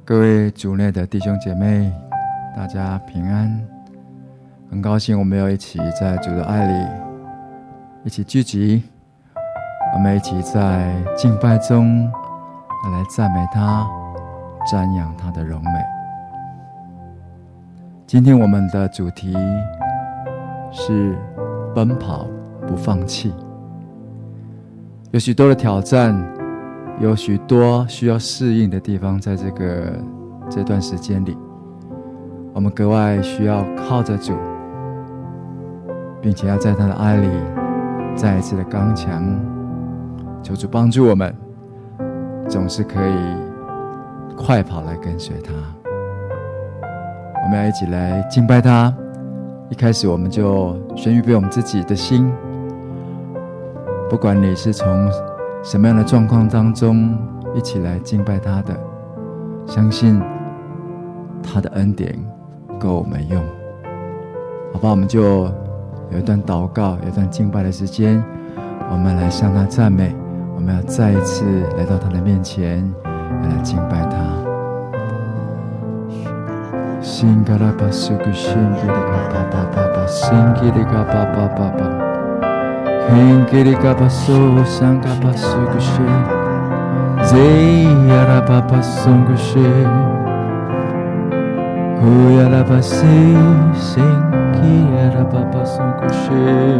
各位主內的弟兄姐妹，大家平安。很高興我們要一起在主的愛裡一起聚集，我們一起在敬拜中來讚美他，瞻仰他的榮美。今天我們的主題是奔跑不放棄。有許多的挑戰，有許多需要適應的地方，在這段時間裡，我們格外需要靠着主，並且要在他的愛裡再一次的剛強。求主幫助我們，總是可以快跑來跟隨他。我們要一起來敬拜他。一開始我們就先預備我們自己的心，不管你是從什麼樣的狀況當中一起來敬拜他的，相信他的恩典夠我們用。好吧，我们就有一段禱告，有一段敬拜的時間，我們來向他讚美，我們要再一次來到他的面前，來敬拜他。新嘎拉巴苏古新吉里嘎巴巴巴巴，新吉里嘎巴巴巴巴，新吉里嘎巴苏桑嘎巴苏古西，Z呀拉巴巴苏古西，呼呀拉巴西，新吉呀拉巴巴苏古西，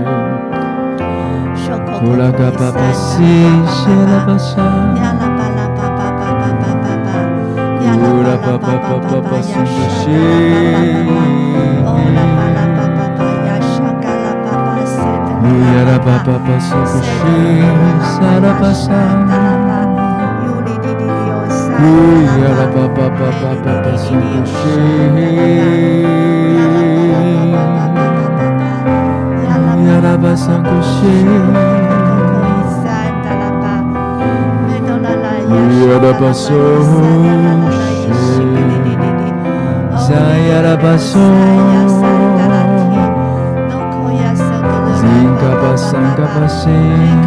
呼啦嘎巴巴西，谢拉巴沙。La ba ba ba ba ba sing she Ya la ba ba ba sing she sa la ba sa Ya la ba ba ba ba ba ba sing she Ya la ba sing she Ya la ba so Saya la baso Zinga basanga basin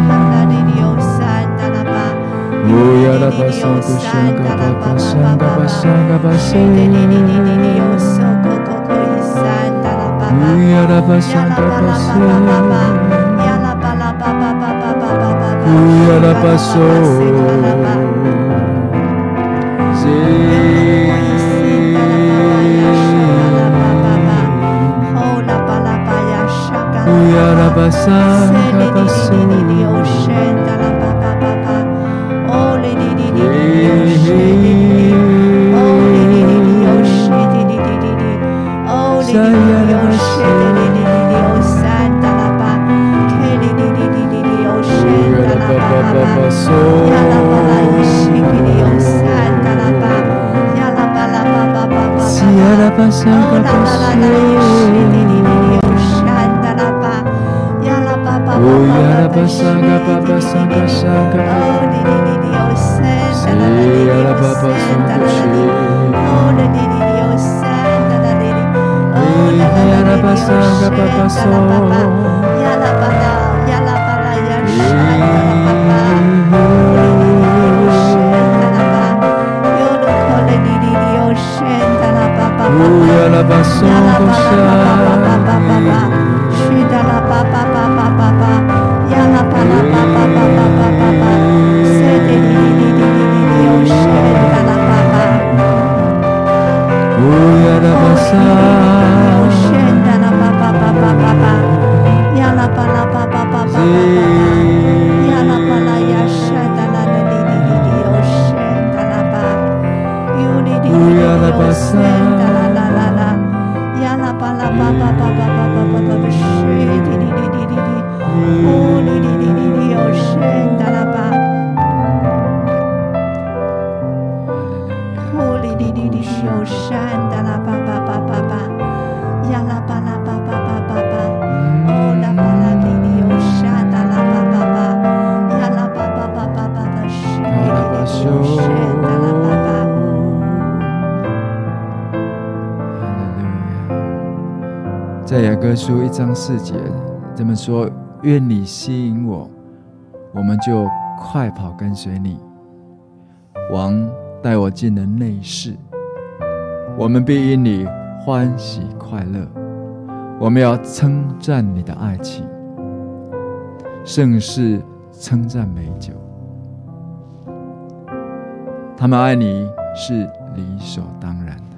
Uya la baso kushanga basanga basanga basin Uya la basanga basin Uya la baso Ya la basanga basin Oh li di di di Oh li di di di Oh li di di di Oh santa la ba Ke li di di di Oh santa la ba Ya la ba la shiki di Oh santa la ba Ya la ba la ba ba ba ba Ya la basanga basin Oh ya la basanga baba sanga sanga Oh di di di di oh santa la di di oh santa la di Oh di di di di oh santa la di Oh ya la basanga baba so Ya la bala ya shanta la baba Oh di di di oh shanta la ba Yo lo kole di di di oh shanta la baba Oh ya la basanga baba Shida la baba baba Ya la ba la ba ba ba ba ba ba ba Se di di di di di di di oh shenda la ba ba Oh ya la ba sa Oh shenda la ba ba ba ba ba ba Ya la ba la ba ba ba ba ba Ya la ba la ya shenda la di di di di oh shenda la ba You di di di di oh shenda la la la la Ya la ba la ba ba ba ba ba ba ba ba She di di di di di Oh li di di di di oh shenda la ba Oh li di di di di oh shenda la ba ba ba ba ba Ya la ba la ba ba ba ba ba Oh la ba la di di oh shenda la ba ba ba Ya la ba ba ba ba ba ba She di di di oh shenda la ba ba 在雅歌書1章4節這麼說，願你吸引我，我們就快跑跟隨你。王帶我進了內室， 我們必因你歡喜快樂。我們要稱讚你的愛情，勝似稱讚美酒。他們愛你是理所當然的，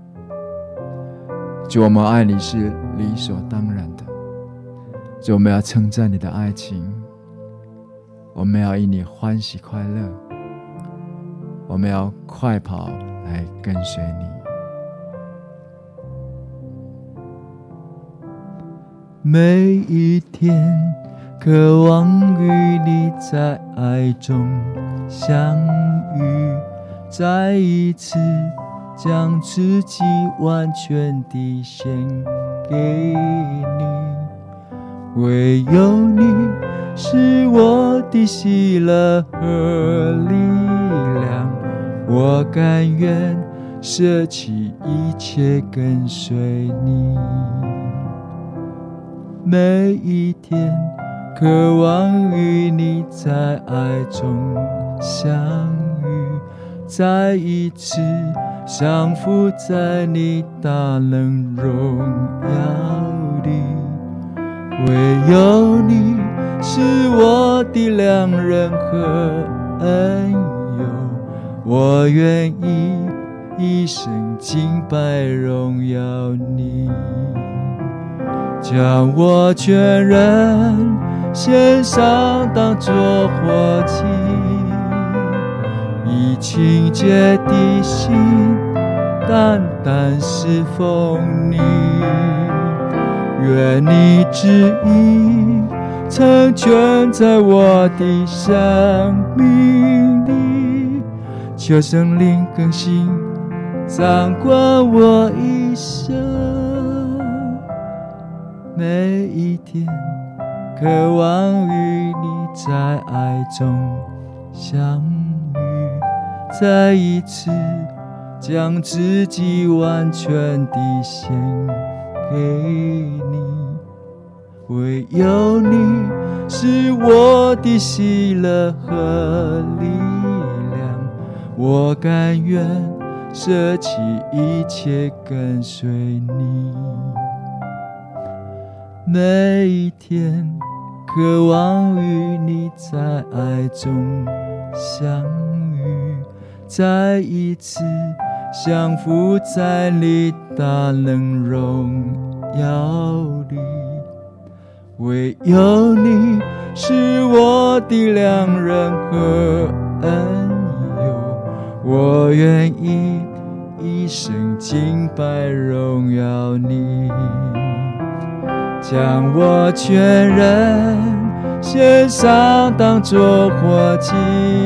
主，我們愛你是理所當然的。主，我們要稱讚你的愛情，我們要因你歡喜快樂，我們要快跑來跟隨你。每一天渴望與你在愛中相遇，再一次將自己完全地獻給你。唯有你是我的喜樂和力量，我甘願捨棄一切跟隨你。每一天渴望與你在愛中相遇，再一次降服在你大能榮耀裡。唯有你是我的良人和恩友，我願意一生敬拜榮耀你。將我全人獻上當作活祭，以清潔的心單單侍奉你。願你旨意成全在我的生命裡，求聖靈更新掌管我一生。每一天渴望與你在愛中相遇，再一次將自己完全地獻給你。唯有你是我的喜樂和力量，我甘願捨棄一切跟隨你。每一天渴望與你在愛中相遇，再一次降服在你大能榮耀裡。唯有你是我的良人和恩友，我願意一生敬拜榮耀你。將我全人獻上當作活祭，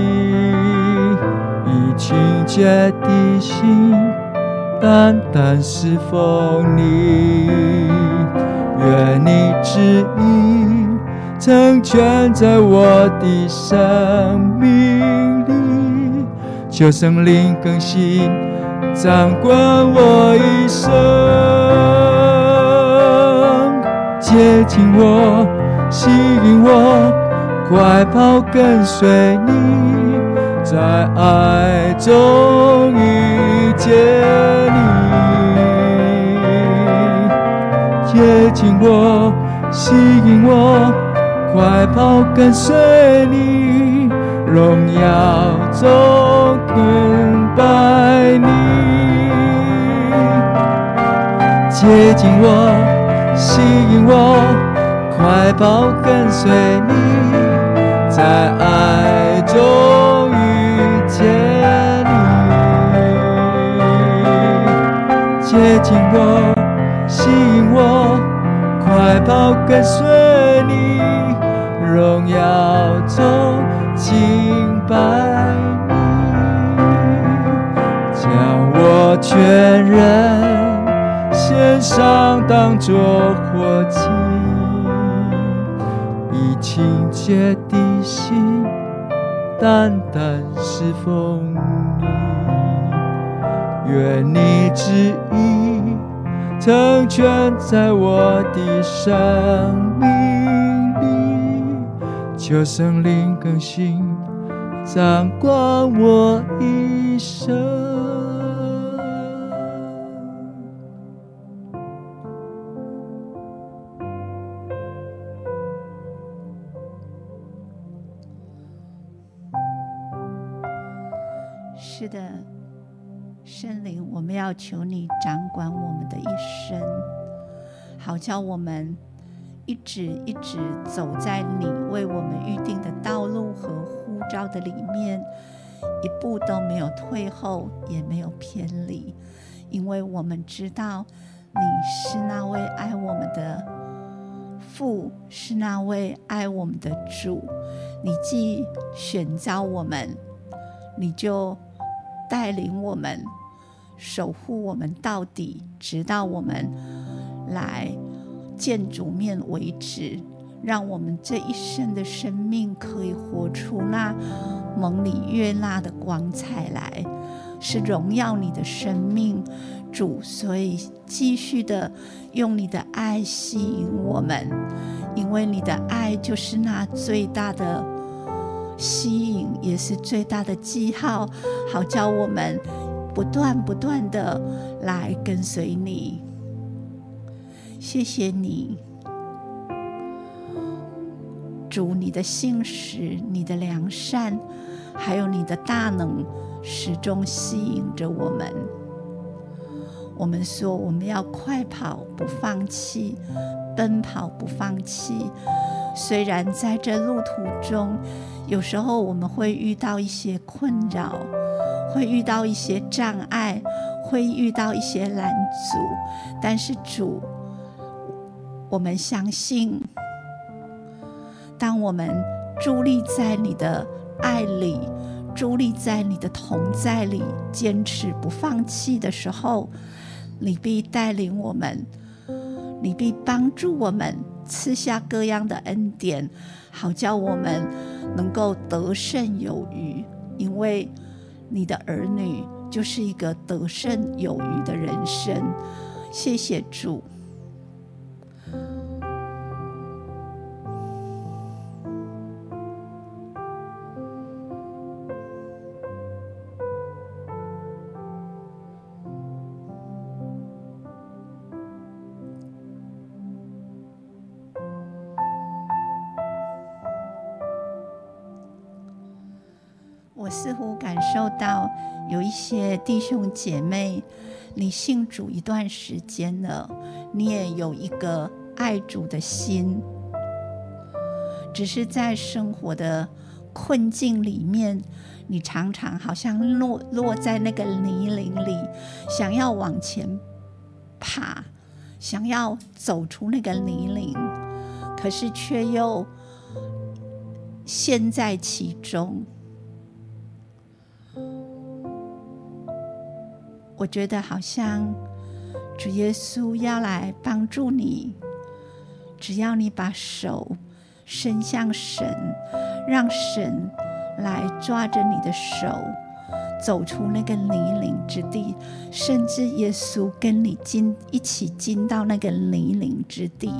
以清潔的心單單侍奉你。願你旨意成全在我的生命裡，求聖靈更新掌管我一生。接近我，吸引我，快跑跟隨你，在愛中遇見你。接近我，吸引我，快跑跟隨你，榮耀中敬拜你。接近我，吸引我，快跑跟隨你，在愛中遇見你。接近我，吸引我，快跑跟隨你，榮耀中敬拜你。將我全人獻上當作活祭，以清潔的心單單侍奉你。願你旨意成全在我的生命裡，求聖靈更新掌管我一生。 是的，聖靈，我們要求你掌管我們的一生，好叫我們一直走在你為我們預定的道路和呼召的裡面，一步都沒有退後，也沒有偏離，因為我們知道你是那位愛我們的父，是那位愛我們的主。你既選召我們，你就帶領我們，守護我們到底，直到我們來見主面為止，讓我們這一生的生命可以活出那蒙你悅納的光彩來，是榮耀你的生命，主。所以繼續的用你的愛吸引我們，因為你的愛就是那最大的吸引，也是最大的記號，好叫我們不斷的來跟隨你。謝謝你，主，你的信實，你的良善，還有你的大能，始終吸引着我們。我們說我們要快跑不放棄，奔跑不放棄。雖然在這路途中，有時候我們會遇到一些困擾，會遇到一些障礙，會遇到一些攔阻，但是主，我們相信，當我們佇立在你的愛裡，佇立在你的同在裡，堅持不放棄的時候，你必帶領我們，你必幫助我們，賜下各樣的恩典，好叫我們能夠得勝有餘。因為你的兒女就是一個得勝有餘的人生。謝謝主。我似乎感受到有一些弟兄姐妹，你信主一段時間了，你也有一個愛主的心，只是在生活的困境裡面，你常常好像落在那個泥濘裡，想要往前爬，想要走出那個泥濘，可是卻又陷在其中。我覺得好像主耶穌要來幫助你，只要你把手伸向神，讓神來抓着你的手，走出那個泥濘之地，甚至耶穌跟你一起進到那個泥濘之地，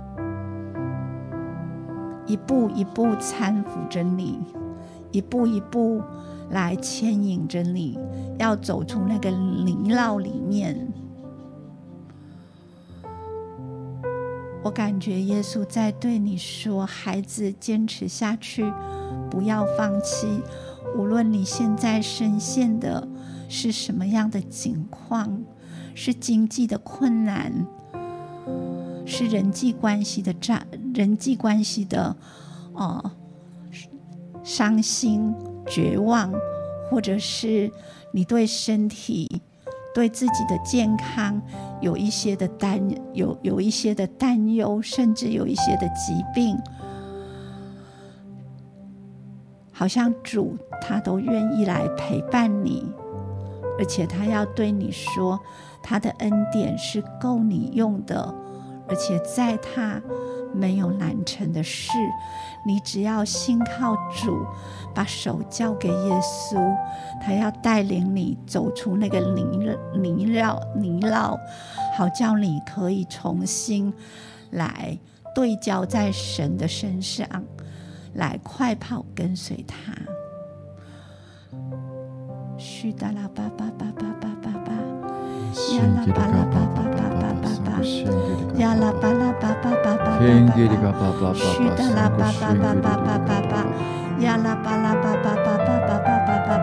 一步一步攙扶着你，一步一步來牽引着你，要走出那個泥淖裡面。我感覺耶穌在對你說，孩子，堅持下去，不要放棄。無論你現在深陷的是什麼樣的境況，是經濟的困難，是人際關係的傷心絕望，或者是你對身體、對自己的健康有一些的擔憂，甚至有一些的疾病，好像主他都願意來陪伴你，而且他要對你說，他的恩典是夠你用的，而且在他沒有難成的事。你只要信靠主，把手交給耶穌，他要帶領你走出那個泥淖，好叫你可以重新來對焦在神的身上，來快跑跟隨他。須達拉巴巴巴巴巴巴巴，呀啦巴拉巴巴巴巴巴巴，呀啦巴拉巴巴巴巴巴巴，須達拉巴巴巴巴巴巴巴，呀啦巴拉巴巴巴巴巴巴巴巴巴，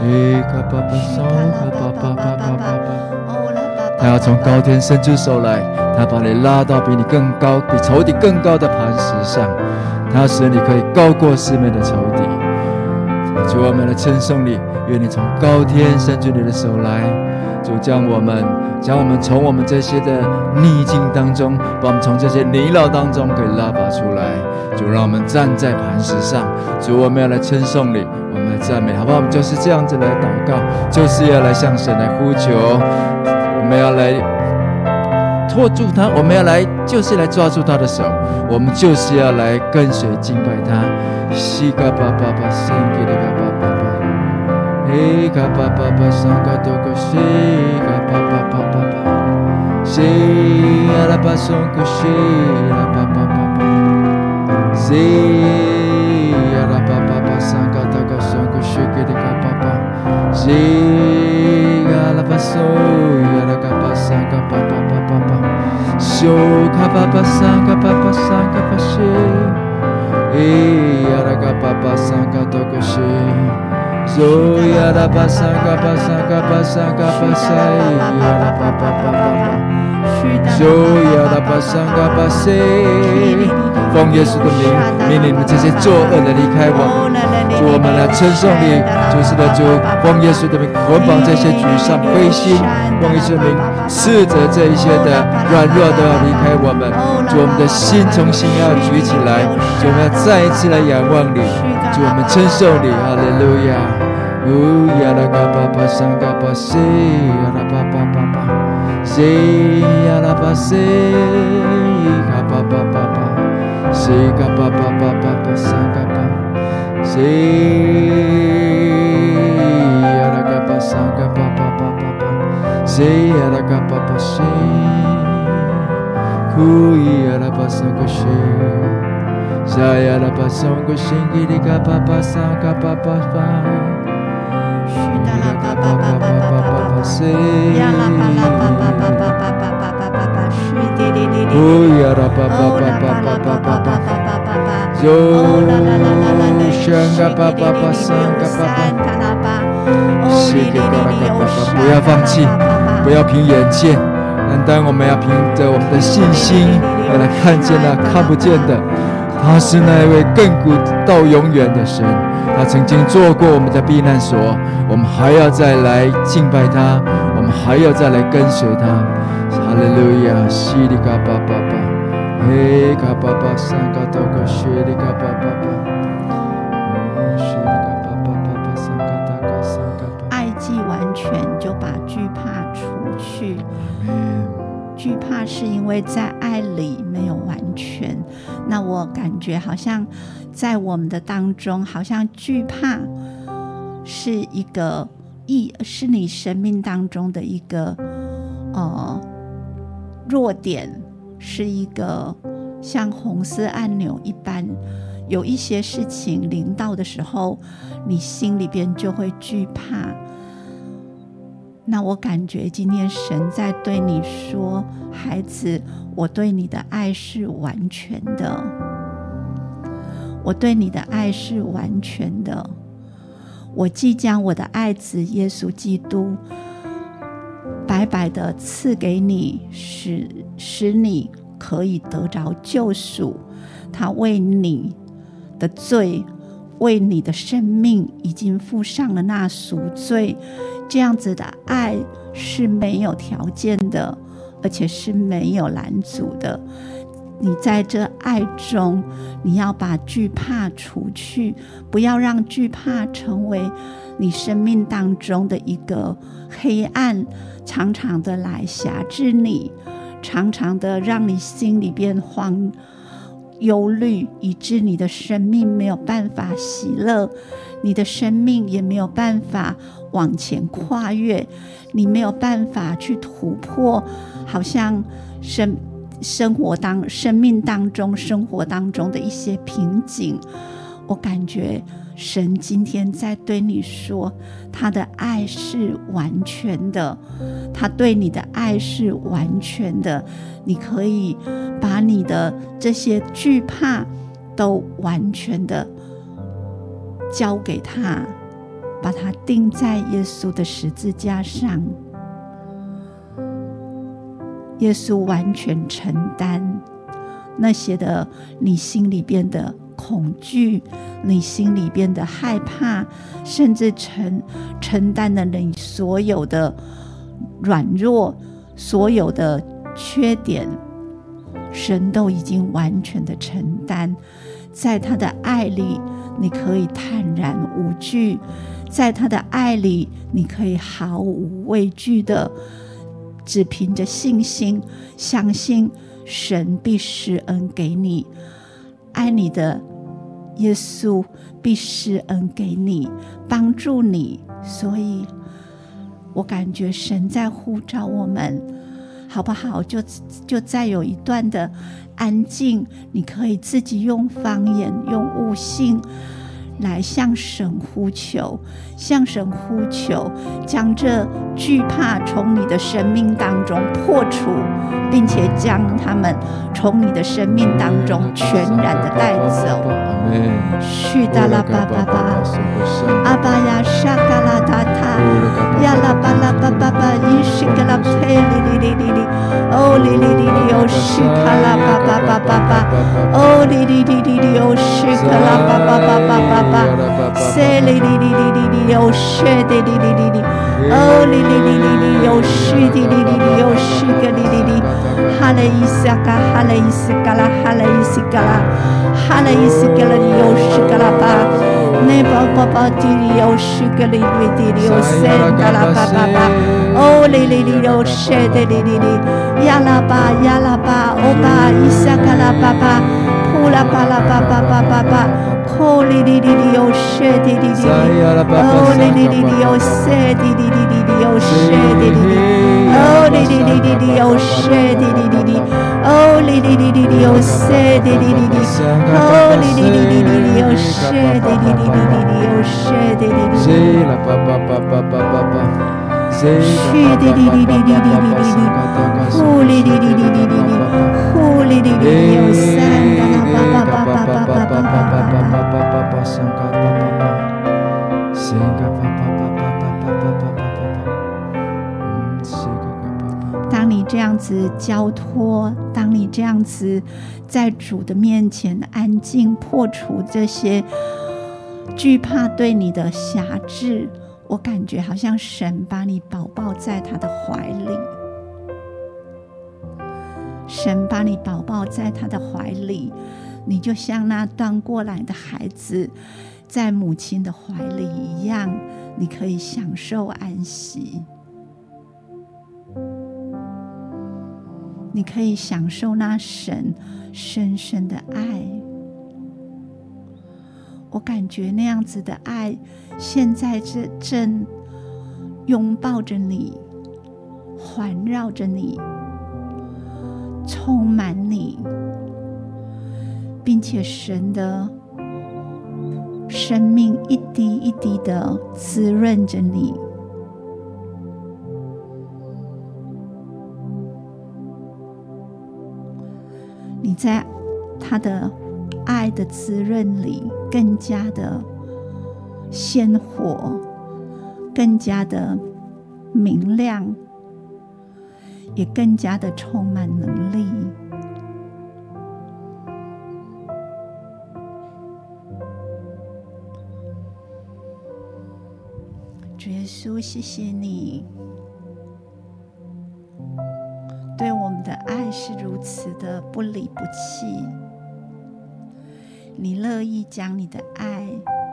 他要從高天伸出手來，他把你拉到比你更高、比仇敵更高的磐石上，他要使你可以高過四面的仇敵。主，我們來稱頌你，願你從高天伸出你的手來，主將我們從我們這些的逆境當中，把我們從這些泥淖當中給拉拔出來。主，讓我們站在磐石上。主，我們要來稱頌你，我們來讚美，好不好？我們就是這樣子來禱告，就是要來向神來呼求，我們要來拖住他，我們要来就是來抓住他的手，我們就是要來跟隨敬拜他。西嘎巴巴巴，圣吉利嘎巴巴巴，嘿嘎巴巴巴，桑嘎多个西嘎巴巴巴巴巴，西阿拉巴松古西拉巴巴巴巴，西阿拉巴巴巴，桑嘎多个松古西吉利嘎巴巴，西阿拉巴松阿拉嘎巴桑嘎巴巴巴巴巴，修嘎巴巴桑嘎巴巴桑嘎巴西。Araga papa sanga tokoshi zo yara basanga basanga basanga basai yara papa papa zo yara basanga basai 奉耶穌的名，命令你們這些作惡的離開我們。主，我們來稱頌你，主是的主，奉耶穌的名捆綁這些沮喪灰心，奉耶穌的名斥責這一些的軟弱都要離開我們。主，我們的心重新要舉起來，主，我們要再一次來仰望你。主，我們稱頌你，哈利路亞。嗚呀啦嘎巴巴桑嘎巴西呀啦巴巴巴巴西呀啦巴西嘎巴巴巴巴。西嘎巴巴巴巴巴桑嘎巴，西呀啦嘎巴桑嘎巴巴巴巴巴，西呀啦嘎巴巴西，库伊呀啦巴桑个西，沙呀啦巴桑个西吉里嘎巴巴桑嘎巴巴巴，西达啦嘎巴巴巴巴巴巴西，呀啦巴啦巴巴巴巴巴巴巴巴巴巴西滴滴滴滴。哦呀啦巴巴巴巴巴巴巴巴巴巴巴，就香嘎巴巴巴桑嘎巴巴，西给嘎啦嘎巴巴，不要放棄，不要憑眼見，但我們要憑着我們的信心，要來看見那看不見的。他是那一位亘古到永遠的神，他曾經做過我們的避難所，我們還要再來敬拜他，我們還要再來跟隨他。哈利路亞，西里嘎巴巴巴，嘿嘎巴巴桑嘎多個西里嘎巴巴巴，西里嘎巴巴巴巴桑嘎大嘎桑嘎巴。 愛既完全，就把懼怕除去。懼怕是因為在愛裡沒有完全。那我感覺好像在我們的當中，好像懼怕是一個是你生命當中的一個弱點，是一個像紅色按鈕一般，有一些事情臨到的時候，你心裡邊就會懼怕。那我感覺今天神在對你說，孩子，我對你的愛是完全的，我對你的愛是完全的，我即將我的愛子耶穌基督白白的賜給你，使你可以得着救贖。他為你的罪，為你的生命已經付上了那贖罪。這樣子的愛是沒有條件的，而且是沒有攔阻的。你在這愛中，你要把懼怕除去，不要讓懼怕成為你生命當中的一個黑暗，常常的來轄制你，常常的讓你心裡變慌憂慮，以致你的生命沒有辦法喜樂，你的生命也沒有辦法往前跨越，你沒有辦法去突破，好像生命當中的一些瓶頸。我感覺神今天在對你說，他的愛是完全的，他對你的愛是完全的，你可以把你的這些懼怕都完全的交給他， 把它釘在耶穌的十字架上。耶穌完全承擔那些的你心裡邊的恐懼，你心裡邊的害怕，甚至承擔了你所有的軟弱，所有的缺點，神都已經完全的承擔。在他的愛裡，你可以坦然無懼；在他的愛裡，你可以毫無畏懼的，只憑着信心，相信神必施恩給你，愛你的耶穌必施恩給你，幫助你。所以我感覺神在呼召我們，好不好？就再有一段的安靜，你可以自己用方言，用悟性來向神呼求，向神呼求，將這懼怕從你的生命當中破除，並且將他們從你的生命當中全然的帶走。許達拉巴巴巴，阿巴呀沙嘎拉達塔，呀拉巴拉巴巴巴，伊西格拉佩里里里里里，哦里里里里哦西卡拉巴巴巴巴巴，哦里里里里里哦西卡拉巴巴巴巴巴巴，塞里里里里里里哦西的里里里里，哦里里里里里哦西的里里里哦西格里里里，哈雷伊斯嘎哈雷伊斯嘎拉哈雷伊斯嘎拉哈雷伊斯嘎拉。有西格拉巴，那宝宝宝地里有西格里瑞地里有塞嘎拉巴巴巴，哦里里里有塞的里里里，呀拉巴呀拉巴，欧巴伊萨嘎拉巴巴，呼啦巴拉巴巴巴巴巴，吼里里里里有塞的里里里，哦里里里里有塞的里里里里有塞的里里，哦里里里里里有塞的里里里，哦里里里里里有塞的里里里，哦里里里。有谁的哩哩哩哩哩？有誰的哩哩哩？是的哩哩哩哩哩哩哩，呼哩哩哩哩哩哩哩，呼哩哩哩哩有三个啦吧吧吧吧吧吧吧吧吧吧，三个吧吧吧，三个吧吧吧吧吧吧吧吧吧。當你這樣子交託，當你這樣子在主的面前安靜，破除這些懼怕對你的轄制，我感覺好像神把你寶寶在他的懷裡，神把你寶寶在他的懷裡，你就像那斷過來的孩子在母親的懷裡一樣，你可以享受安息，你可以享受那神深深的愛。我感覺那樣子的愛現在正擁抱着你，環繞着你，充滿你，並且神的生命一滴一滴的滋潤着你。你在他的愛的滋潤裡更加的鮮活，更加的明亮，也更加的充滿能力。主耶穌，謝謝你對我們的愛是如此的不離不棄，你樂意將你的愛，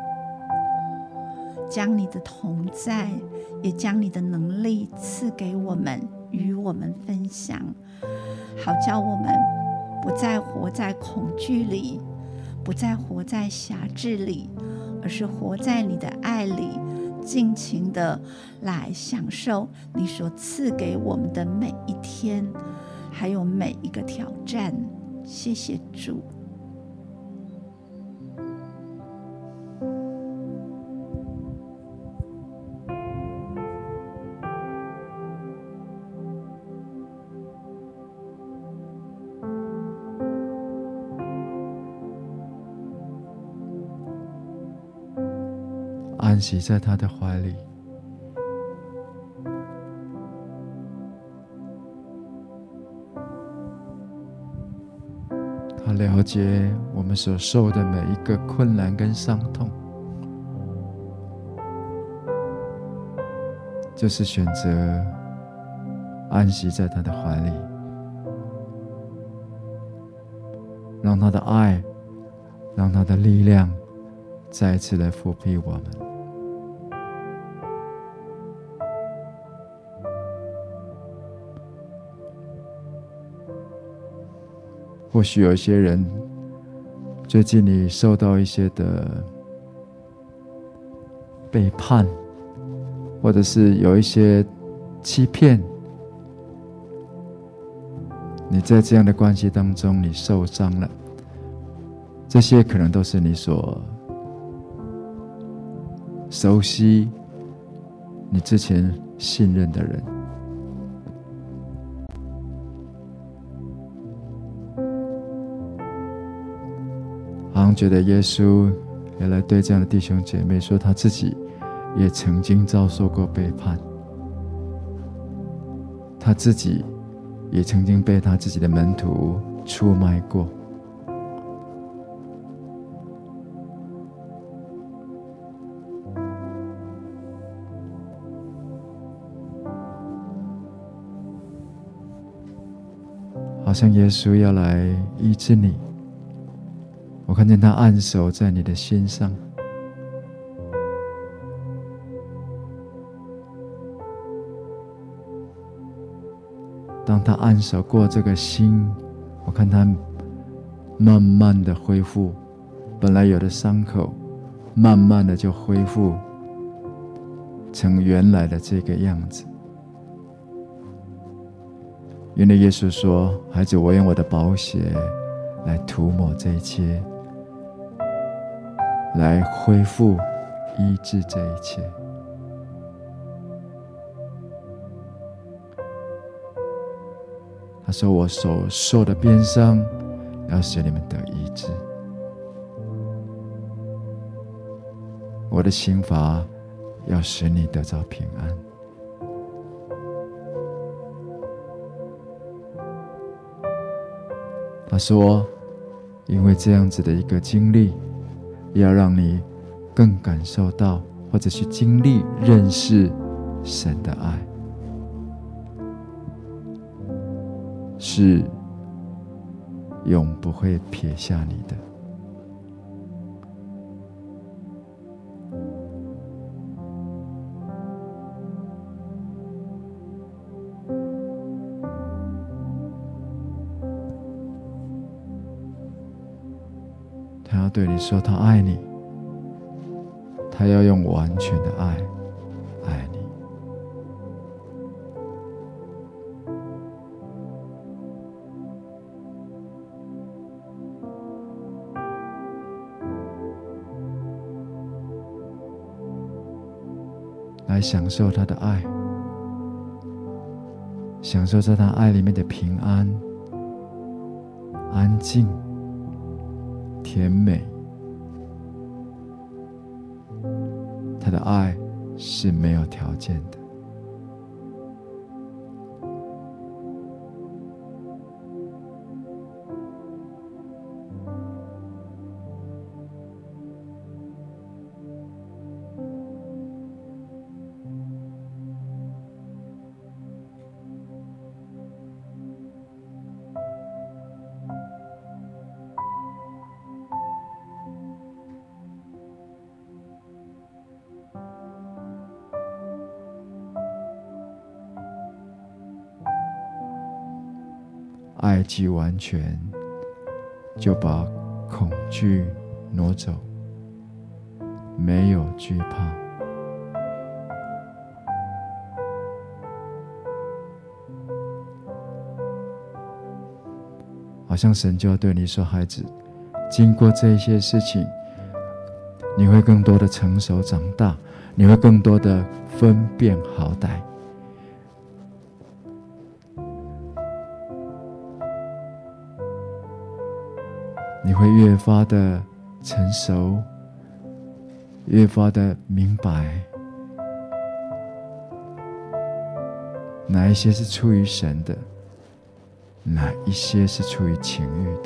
將你的同在，也將你的能力賜給我們，與我們分享，好叫我們不再活在恐懼裡，不再活在轄制裡，而是活在你的愛裡，盡情的來享受你所賜給我們的每一天，還有每一個挑戰。謝謝主。 安息在他的懷裡。他了解我們所受的每一個困難跟傷痛，就是選擇安息在他的懷裡，讓他的愛，讓他的力量再一次來復辟我們。或許有一些人，最近你受到一些的背叛，或者是有一些欺騙，你在這樣的關係當中，你受傷了，這些可能都是你所熟悉、你之前信任的人。好像覺得耶穌也來對這樣的弟兄姐妹說，他自己也曾經遭受過背叛，他自己也曾經被他自己的門徒出賣過。好像耶穌要來醫治你，我看見他按手在你的心上，當他按手過這個心，我看他慢慢的恢復本來有的傷口，慢慢的就恢復成原來的這個樣子。因為耶穌說，孩子，我用我的寶血來塗抹這一切，來恢復醫治這一切。他說，我所受的鞭傷要使你們得醫治，我的刑罰要使你得着平安。他說，因為这樣子的一個經歷，要讓你更感受到，或者去經歷認識神的愛，是永不會撇下你的。他要对你說，他愛你，他要用完全的愛愛你。來享受他的愛，享受在他愛裡面的平安、安靜、甜美。他的愛是沒有條件的。愛既完全，就把恐懼挪走，沒有懼怕。好像神就要對你說，孩子，經過這些事情，你會更多的成熟長大，你會更多的分辨好歹。你會越發的成熟， 越發的明白哪一些是出於神的，哪一些是出於情欲的。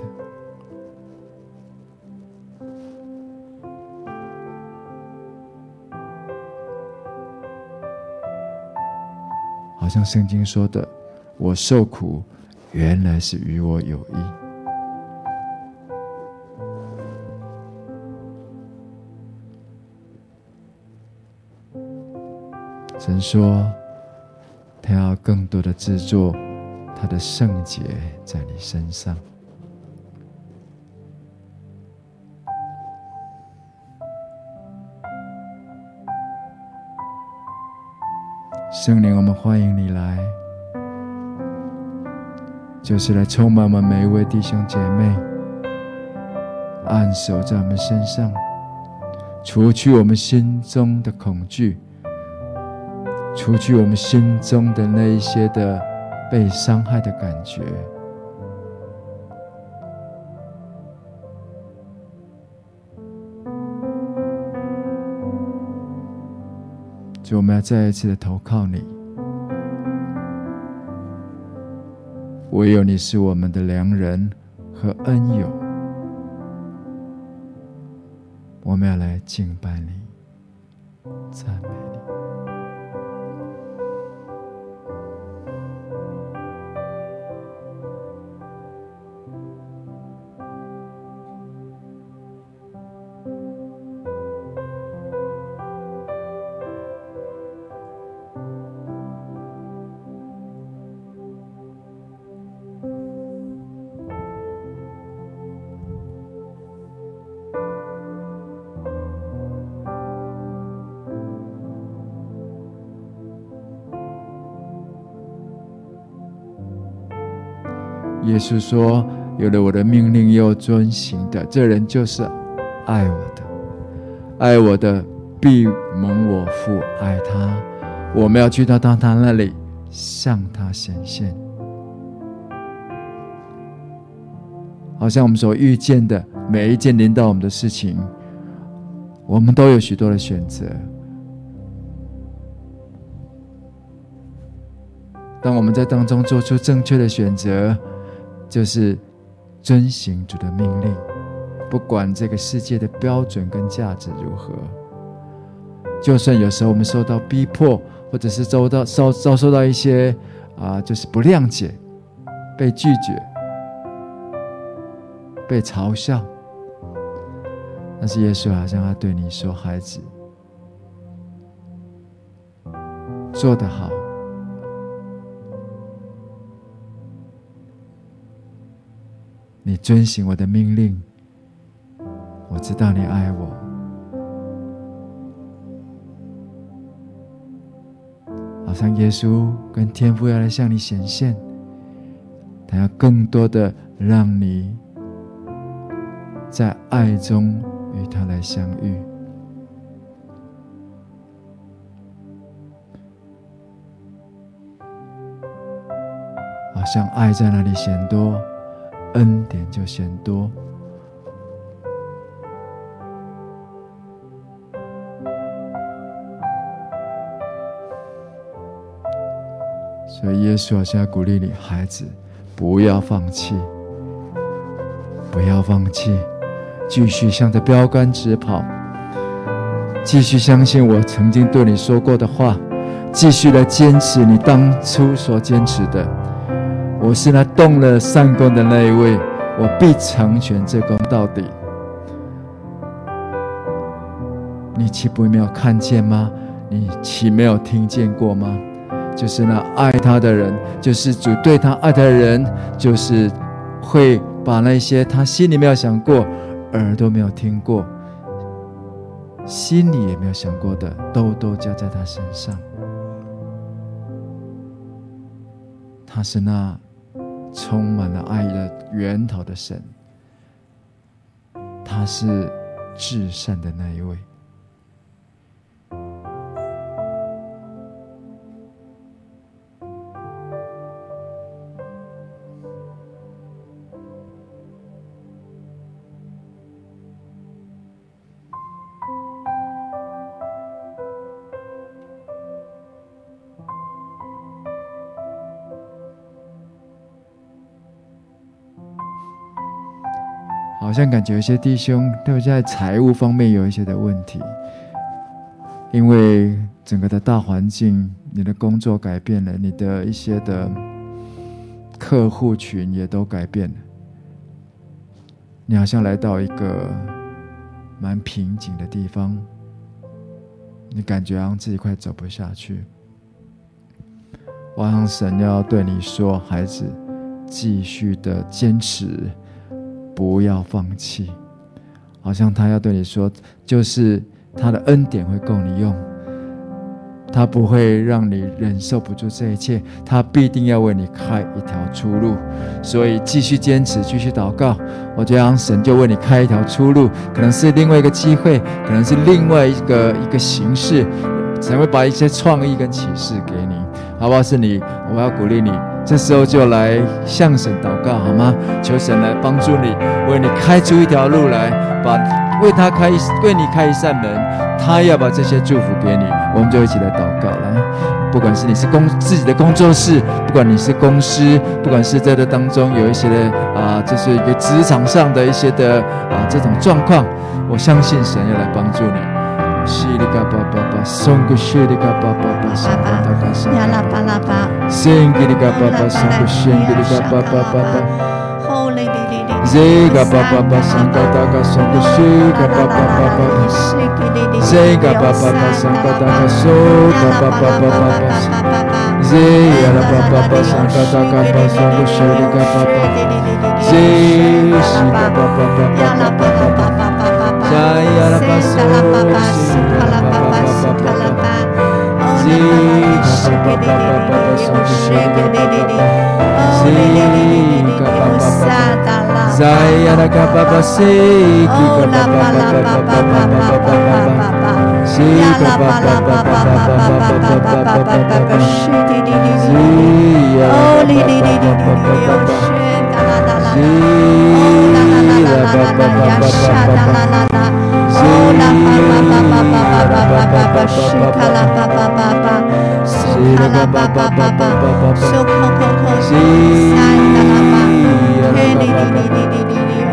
好像聖經說的，我受苦原來是與我有益。神說他要更多的制作他的聖潔在你身上。聖靈，我們歡迎你來，就是來充滿我們每一位弟兄姐妹，按手在我們身上，除去我們心中的恐懼，除去我們心中的那一些的被傷害的感覺。主，我們要再一次的投靠你，唯有你是我們的良人和恩友，我們要來敬拜你，讚美你。耶穌說，有了我的命令又遵行的，這人就是愛我的，愛我的必蒙我父愛他，我們要去到他那裡，向他顯現。好像我們所遇見的每一件臨到我們的事情，我們都有許多的選擇。當我們在當中做出正確的選擇，就是遵行主的命令，不管這个世界的標準跟價值如何，就算有時候我們受到逼迫，或者是遭受到一些就是不諒解，被拒絕，被嘲笑，但是耶穌好像他對你說，孩子，做得好，你遵行我的命令，我知道你愛我。好像耶穌跟天父要來向你顯現，他要更多的讓你在愛中與他來相遇。好像愛在那裡顯多，恩典就顯多。所以耶穌好像要鼓勵你，孩子，不要放棄，不要放棄，繼續向着標杆直跑，繼續相信我曾經對你說過的話，繼續來堅持你當初所堅持的。我是那動了善工的那一位，我必成全這工到底。你豈不沒有看見嗎？你豈沒有聽見過嗎？就是那愛他的人，就是主對他愛他的人，就是會把那些他心裡沒有想過，耳朵沒有聽過，心裡也沒有想過的，都加在他身上。他是那充滿了愛的源頭的神，他是至善的那一位。 好像感覺有些弟兄特別在財務方面有一些的問題，因為整個的大環境，你的工作改變了，你的一些的客戶群也都改變了，你好像來到一個蠻瓶頸的地方，你感覺好像自己快走不下去。我好像神要對你說，孩子，繼續的堅持，不要放棄。好像他要對你說，就是他的恩典會夠你用，他不會讓你忍受不住這一切，他必定要為你開一條出路。所以繼續堅持，繼續禱告，我覺得神就為你開一條出路，可能是另外一個機會，可能是另外一個形式，神會把一些創意跟啟示給你，好不好？是你，我要鼓勵你，這時候就來向神禱告，好嗎？求神來幫助你，為你開出一條路來，為你開一扇門，他要把這些祝福給你。我們就一起來禱告，來，不管是你是自己的工作室，不管你是公司，不管是在這當中有一些的就是一個職場上的一些的這種狀況，我相信神要來幫助你。西里嘎巴巴巴，松个西里嘎巴巴巴，松个达嘎松，呀啦巴拉巴，仙吉里嘎巴巴，松个仙吉里嘎巴巴巴巴，吼哩哩哩哩，这嘎巴巴巴，松个达嘎松个西嘎巴巴巴巴，这嘎巴巴巴，松个达嘎松嘎巴巴巴巴巴，这呀啦巴巴巴，松个达嘎巴松个西里嘎巴巴，这西嘎巴巴巴，呀啦巴拉巴巴巴。Jaya la basu, kala baba su kala ba, oh la baba shake de de de, oh le le le le le, sada la. Jaya la baba shake, oh la bala baba baba baba baba, ya la bala baba baba baba baba shake de de, oh le le le le le, oh shake la la la, oh la la la la la la, ya shada la la la. Oh la ba ba ba ba ba ba ba ba ba shika la ba ba ba ba suka la ba ba ba ba suko ko ko san la ba he li li li li li li li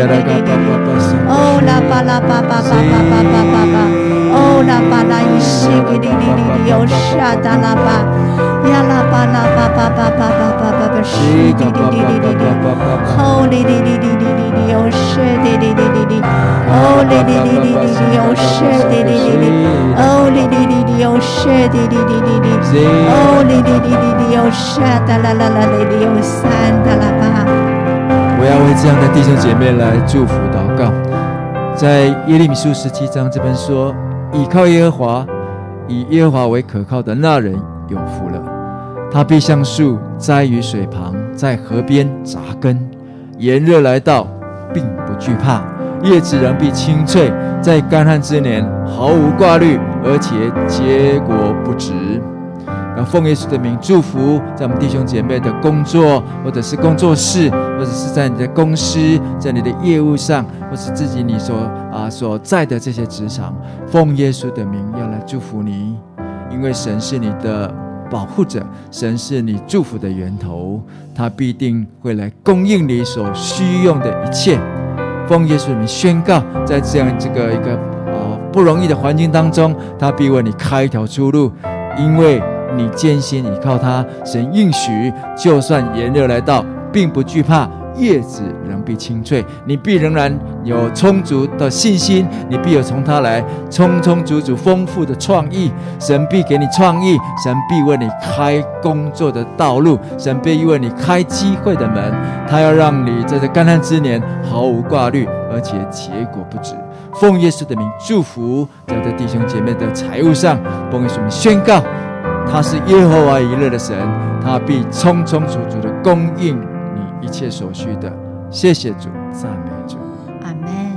oh la ba la ba ba ba ba ba ba ba ba oh la ba la ishiki li li li li oh shada la ba ya la ba la ba ba ba ba ba ba ba ba shiki li li li li li oh li li li li li li li oh shiki li li li li oh li li li li li li oh shiki li li li oh li li li li oh shiki li li li li oh li li li li li oh shada la la la li li oh san da la ba。 我要为這樣的弟兄姐妹來祝福禱告。在耶利米書17章這邊說，倚靠耶和華，以耶和華為可靠的那人有福了。他必像樹栽於水旁，在河邊扎根，炎熱來到，並不懼怕，葉子仍必青翠，在乾旱之年毫無掛慮，而且結果不止。要奉耶穌的名祝福在我們弟兄姐妹的工作，或者是工作室，或者是在你的公司，在你的業務上，或是自己你所在的這些職場，奉耶穌的名要來祝福你，因為神是你的保護者，神是你祝福的源頭，他必定會來供應你所需用的一切。奉耶穌的名宣告，在這樣一個不容易的環境當中，他必為你開一條出路，因為你堅心倚靠他，神應許，就算炎熱來到，並不懼怕，葉子仍必青翠。你必仍然有充足的信心，你必有從他來充充足足豐富的創意。神必給你創意，神必為你開工作的道路，神必為你開機會的門。他要讓你在這乾旱之年毫無掛慮，而且結果不止。奉耶穌的名祝福在這弟兄姐妹的財務上，奉耶穌名宣告，他是耶和華以勒的神，他必充充足足的供應你一切所需的。謝謝主，讚美主， 阿們。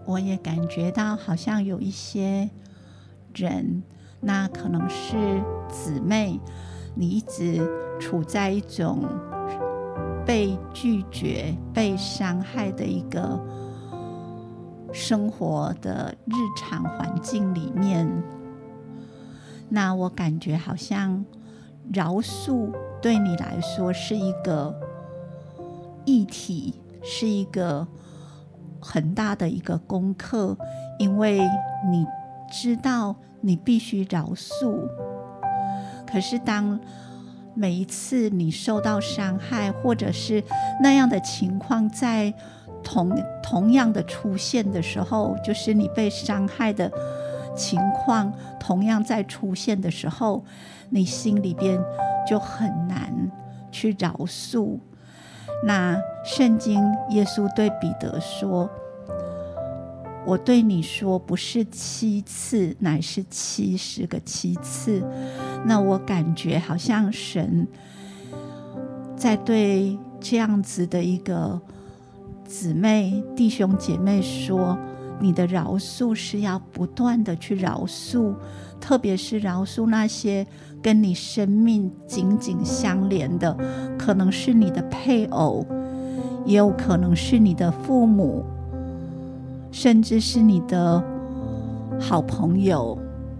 我也感覺到好像有一些人，那可能是姊妹，你一直處在一種被拒絕、被傷害的一個生活的日常環境裡面。那我感覺好像饒恕對你來說是一個議題，是一個很大的一個功課，因為你知道你必須饒恕。可是當每一次你受到傷害，或者是那樣的情況在同樣的出現的時候，就是你被傷害的情況同樣在出現的時候，你心裡邊就很難去饒恕。那聖經耶穌對彼得說，我對你說不是7次，乃是70個7次。那我感覺好像神在對這樣子的一個姊妹弟兄姐妹說，你的饒恕是要不斷的去饒恕，特別是饒恕那些跟你生命緊緊相連的，可能是你的配偶，也有可能是你的父母，甚至是你的好朋友。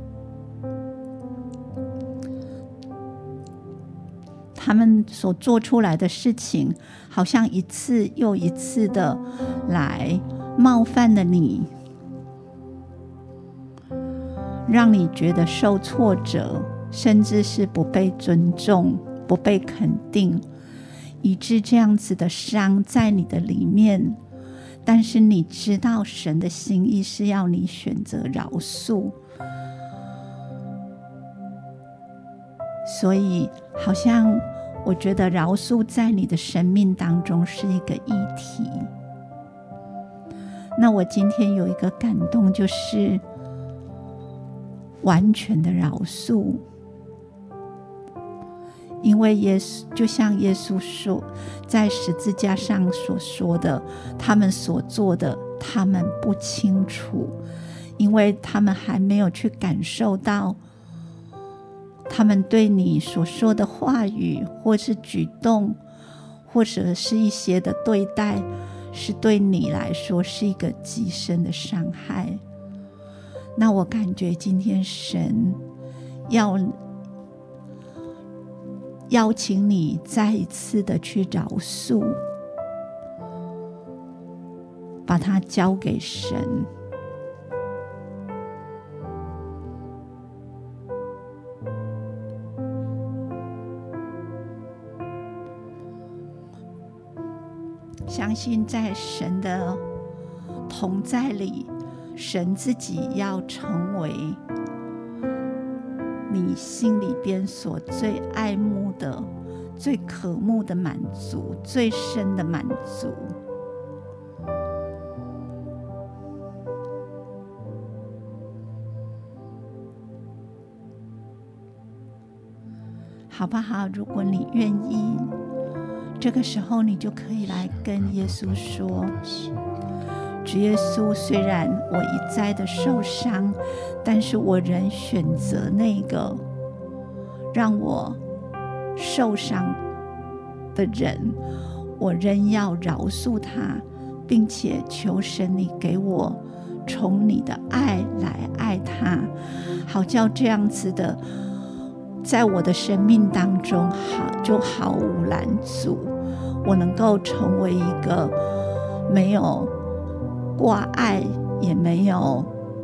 他們所做出来的事情，好像一次又一次的來冒犯了你，讓你覺得受挫折，甚至是不被尊重、不被肯定，以致這樣子的傷在你的裡面。但是你知道神的心意是要你選擇饒恕，所以好像我覺得饒恕在你的生命當中是一個議題。那我今天有一個感動，就是完全的饒恕，因為耶穌就像耶穌說，在十字架上所說的，他們所做的，他們不清楚，因為他們還沒有去感受到，他們對你所說的話語，或是舉動，或者是一些的對待，是對你來說是一個極深的傷害。那我感覺今天神要邀請你再一次的去饒恕，把它交給神。相信在神的同在裡，神自己要成為你心裡邊所最愛慕的、最渴慕的滿足，最深的滿足。好不好？如果你願意，這個時候你就可以來跟耶穌說，主耶穌，雖然我一再的受傷，但是我仍選擇那個讓我受傷的人，我仍要饒恕他，並且求神你給我從你的愛來愛他，好叫這樣子的在我的生命當中就毫無攔阻，我能夠成為一個沒有掛礙也沒有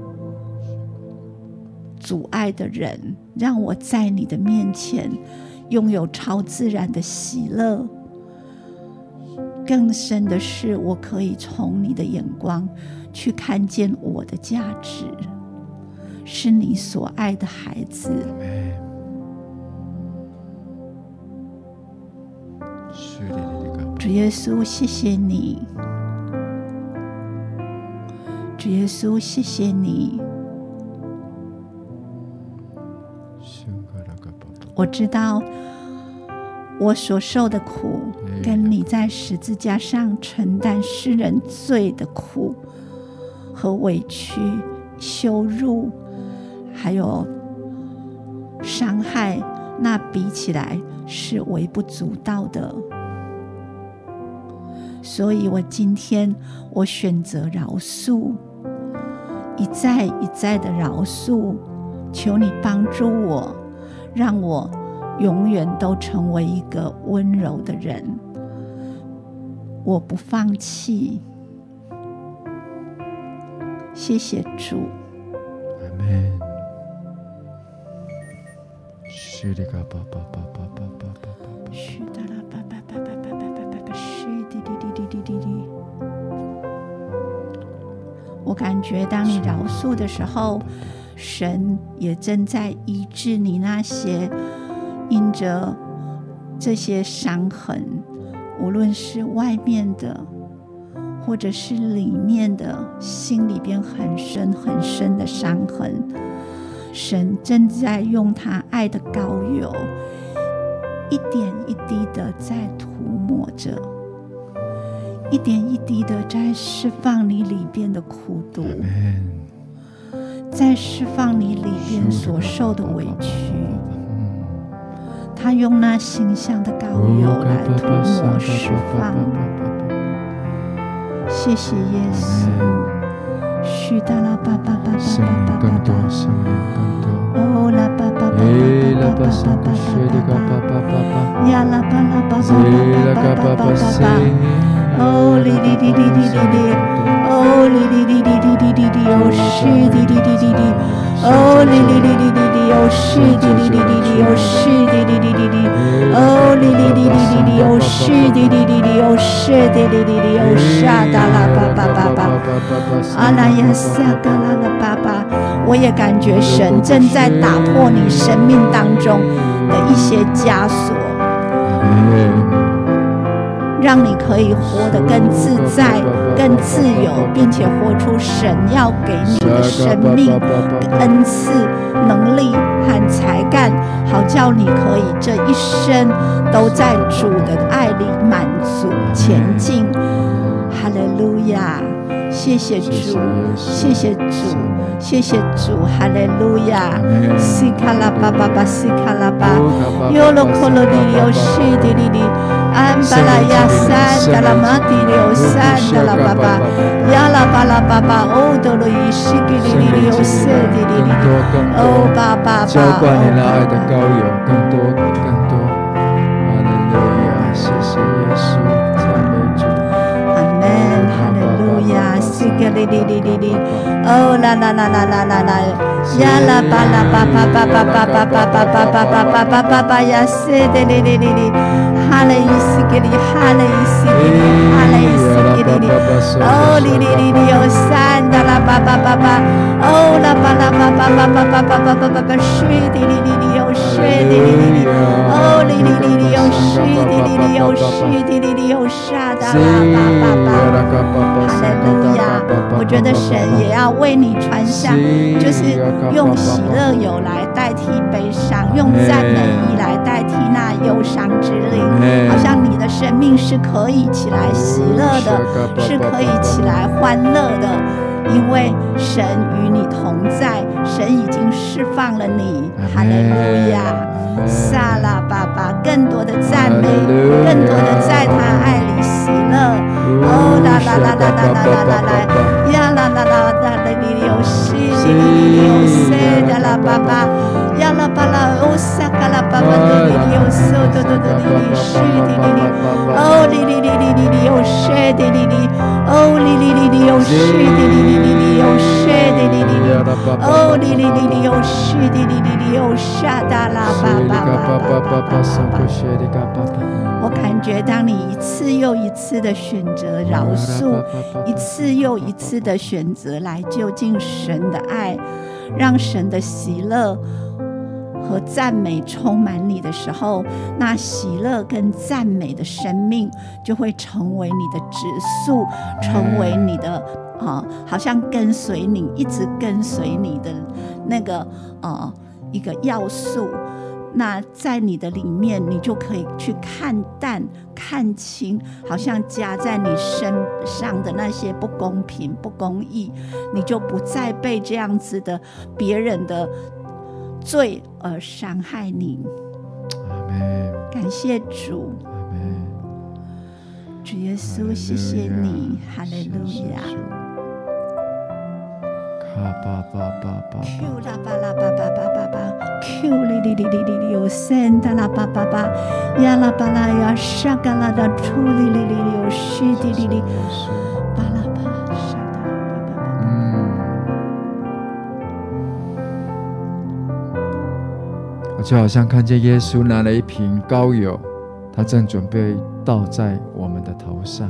阻礙的人，讓我在你的面前擁有超自然的喜樂。更深的是，我可以從你的眼光去看見我的價值，是你所愛的孩子。主耶穌，謝謝你。主耶穌，謝謝你。我知道我所受的苦，跟你在十字架上承擔世人罪的苦和委屈、羞辱，還有傷害，那比起來是微不足道的。所以我今天我選擇饒恕，一再一再的饒恕，求你幫助我，讓我永遠都成為一個溫柔的人。我不放棄。謝謝主。 阿們。 我感覺當你饒恕的時候，神也正在醫治你那些因着這些傷痕，無論是外面的或者是裡面的，心裡邊很深很深的傷痕，神正在用他愛的膏油一點一滴的在塗抹着，一點一滴的在釋放你裡邊的苦毒，在釋放你裡邊所受的委屈。他用那馨香的膏油來塗抹釋放。謝謝耶穌。許達拉巴巴巴巴巴巴巴，哦拉巴巴巴巴巴巴巴巴，呀拉巴拉巴巴巴巴巴巴，哦哩哩哩哩哩哩，哦哩哩哩哩哩哩哩哩，哦是哩哩哩哩哩，哦哩哩哩哩哩哩，哦是哩哩哩哩哩，哦是哩哩哩哩哩，哦哩哩哩哩哩哩，哦是哩哩哩哩，哦是哩哩哩哩，哦沙达拉巴巴巴巴，阿拉呀撒嘎拉拉巴巴，我也感覺神正在打破你生命當中的一些枷鎖，讓你可以活得更自在、更自由，並且活出神要給你的生命恩賜、能力和才幹，好叫你可以這一生都在主的愛裡滿足前進。哈利路亞！謝謝主，謝謝主，謝謝主，哈利路亞！西卡拉巴巴巴，西卡拉巴，尤羅科羅里尤西迪里里，安巴拉亞三達拉馬蒂里三達拉巴巴，亞拉巴拉巴巴，歐多羅伊西吉里里尤西迪里里，歐巴巴巴，澆灌你那愛的膏油，更多更多，哈利路亞！謝謝耶穌，讚美主。西格里里里里里，哦啦啦啦啦啦啦啦，呀啦巴啦巴巴巴巴巴巴巴巴巴巴巴巴巴巴呀，西的里里里里，哈嘞伊西格里，哈嘞伊西格里，哈嘞伊西格里里，哦里里里里有三的啦巴巴巴巴，哦啦巴啦巴巴巴巴巴巴巴巴巴巴，水的里里里有水的里里里，哦里里里里有水的里里有水的里里有沙的啦巴巴巴，哈嘞路亞。我覺得神也要為你傳向，就是用喜樂油來代替悲傷，用讚美儀來代替那憂傷之靈，好像你的生命是可以起來喜樂的，是可以起來歡樂的，因為神與你同在，神已經釋放了你。哈利路亞，撒拉巴巴，更多的讚美，更多的在他愛裡喜樂。哦啦啦啦啦啦啦啦啦，呀啦啦啦啦啦哩哩哦西哩哩哩哦塞da啦巴巴，呀啦巴啦哦撒嘎啦巴巴哩哩哩哦嗦哆哆哆哩哩西哩哩哩，哦哩哩哩哩哩哩哦塞哩哩哩，哦哩哩哩哩哦西哩哩哩哩哩哦塞哩哩哩哩，哦哩哩哩哩哦西哩哩哩哩哦沙da啦巴巴巴巴巴巴。我感覺當你一次又一次的選擇饒恕，一次又一次的選擇來就近神的愛，讓神的喜樂和讚美充滿你的時候，那喜樂跟讚美的生命就會成為你的質素，成為你的好像跟隨你，一直跟隨你的那個一個要素。 那在你的裡面，你就可以去看淡、看清，好像加在你身上的那些不公平、不公義，你就不再被這樣子的別人的罪而傷害你。 阿們。 感謝主。 阿們。 主耶穌，謝謝你，哈利路亞。 卡巴巴巴巴。 Q 啦巴啦巴巴巴巴巴 ，Q 哩哩哩哩哩哩，有圣的啦巴巴巴，呀啦巴啦呀，沙嘎啦的处哩哩哩哩，有西哩哩哩，巴啦巴沙的啦巴巴巴。 我就好像看見耶穌拿了一瓶膏油，他正準備倒在我們的頭上。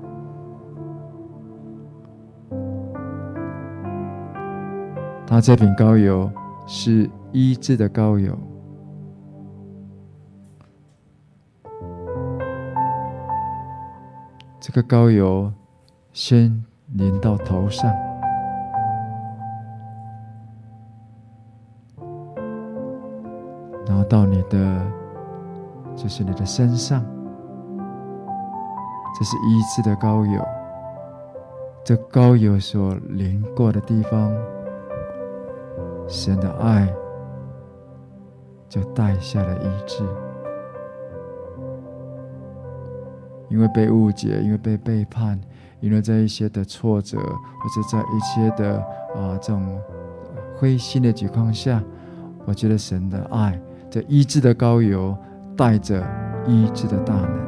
他這瓶膏油是醫治的膏油，這個膏油先淋到頭上，然後到你的，就是你的身上，這是醫治的膏油。這膏油所淋過的地方，神的愛就帶下了醫治。因為被誤解，因為被背叛，因為在一些的挫折，或者在一些的這種灰心的情況下，我覺得神的愛，這醫治的膏油帶着醫治的大能。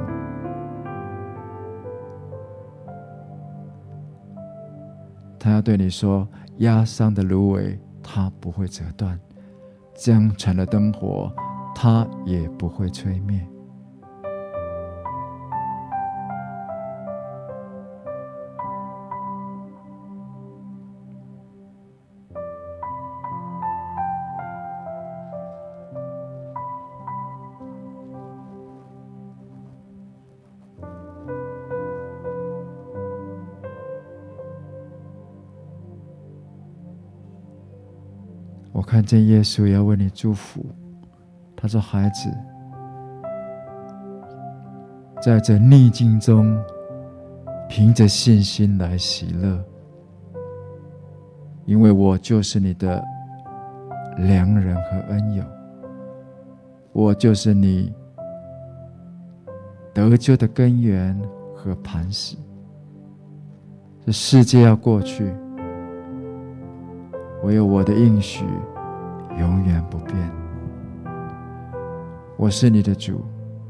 他要對你說，壓傷的蘆葦它不會折斷，將殘的燈火它也不會吹滅。我看見耶穌也要為你祝福，他說：“孩子，在這逆境中，憑着信心來喜樂，因為我就是你的良人和恩友，我就是你得救的根源和磐石。這世界要過去，唯有我的應許永遠不變。我是你的主，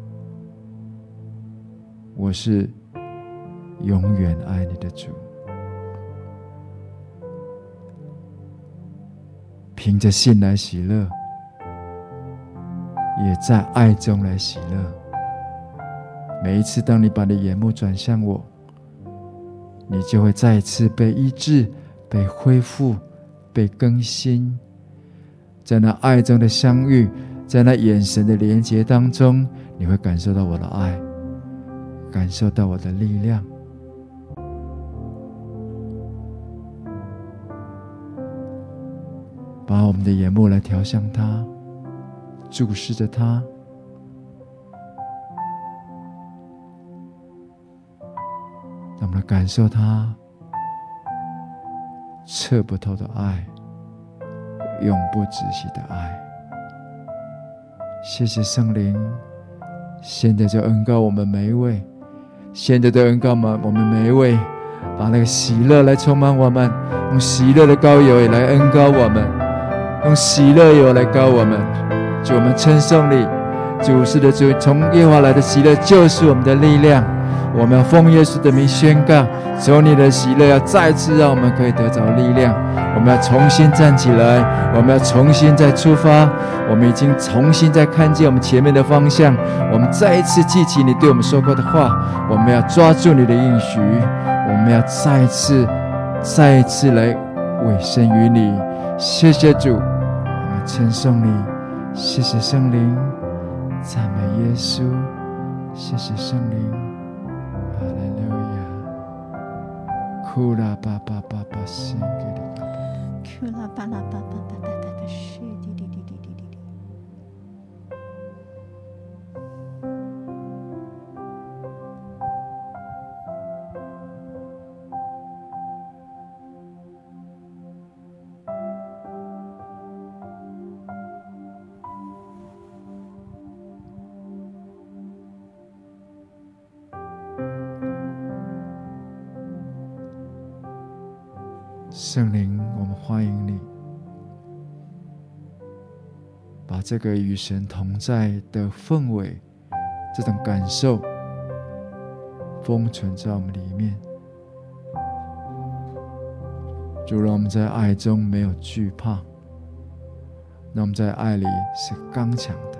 我是永遠愛你的主。憑着信來喜樂，也在愛中來喜樂。每一次當你把你的眼目轉向我，你就會再一次被醫治，被恢復，被更新。在那愛中的相遇，在那眼神的連結當中，你會感受到我的愛，感受到我的力量。把我們的眼目來調向他，注視着他，讓我們來感受他測不透的愛，永不止息的愛。謝謝聖靈，現在就恩膏我們每一位，現在就恩膏我們每一位，把那個喜樂來充滿我們，用喜樂的膏油也來恩膏我們，用喜樂油來膏我們。主，我們稱頌你，主是的主，從耶和華來的喜樂就是我們的力量。我們要奉耶穌的名宣告，求你的喜樂要再次讓我們可以得着力量。我們要重新站起來，我們要重新再出發。我們已經重新再看見我們前面的方向，我們再一次記起你對我們說過的話，我們要抓住你的應許，我們要再一次來委身於你。謝謝主，我們稱頌你，謝謝聖靈，讚美耶穌，謝謝聖靈。哈利路亞，庫拉巴巴巴巴聖給你，庫拉巴拉巴巴巴巴巴巴聖滴滴滴滴滴滴。 聖靈，我們歡迎你，把這個與神同在的氛圍，這種感受封存在我們裡面。就讓我們在愛中沒有懼怕，讓我們在愛裡是剛強的。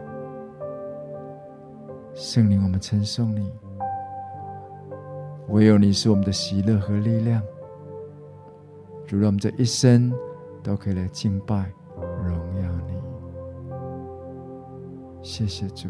聖靈，我們稱頌你，唯有你是我們的喜樂和力量。主，讓我們這一生都可以來敬拜榮耀你。謝謝主。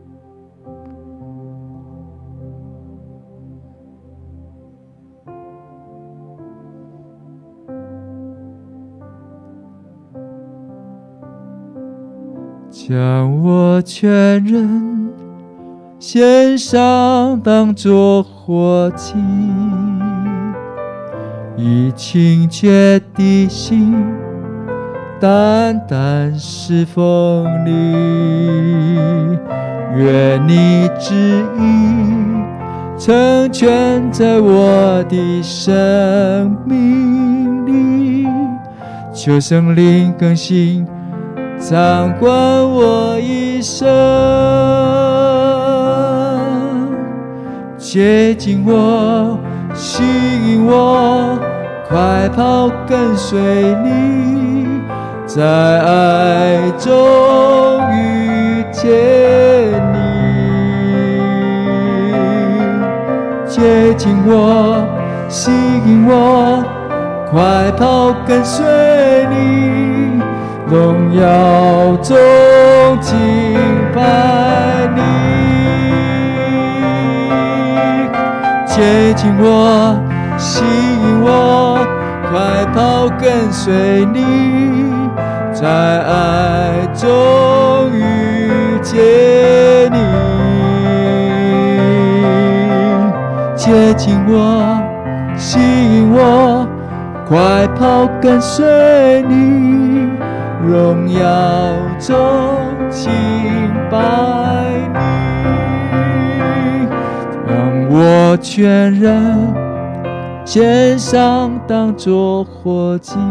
将我全人獻上，當作活祭，以清潔的心單單侍奉你。願你旨意成全在我的生命裡，求聖靈更新掌管我一生，接近我，吸引我，快跑跟隨你，在愛中遇見你。接近我，吸引我，快跑跟隨你，榮耀中敬拜你。接近我，吸引我，快跑跟隨你，在愛中遇見你。接近我，吸引我，快跑跟隨你，榮耀中敬拜你。讓我全人獻上，當作活祭，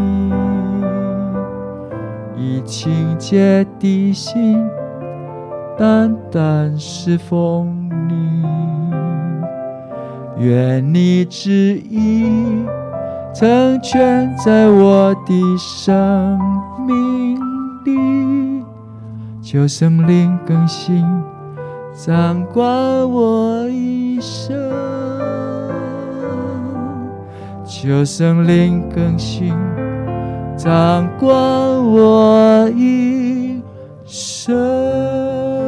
以清潔的心單單侍奉你。願你旨意成全在我的生命裡，求聖靈更新掌管我一生，求聖靈更新掌管我一生。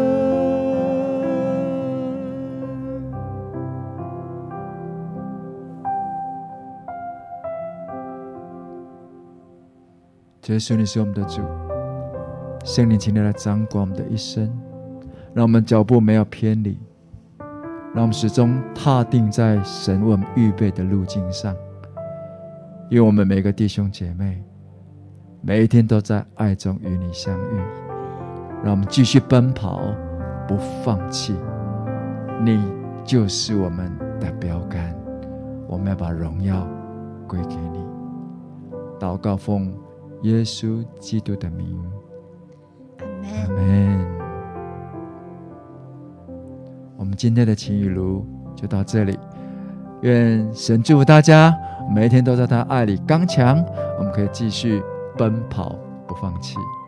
耶穌，你是我們的主，聖靈，請你來掌管我們的一生，讓我們腳步沒有偏離，讓我們始終踏定在神為我們預備的路徑上。因為我們每個弟兄姐妹每一天都在愛中與你相遇，讓我們繼續奔跑，不放棄。你就是我們的標杆，我們要把榮耀歸給你。禱告奉耶穌基督的名，阿們。我們今天的情雨露就到這裡，願神祝福大家，每一天都在他愛裡剛強，我們可以繼續奔跑不放棄。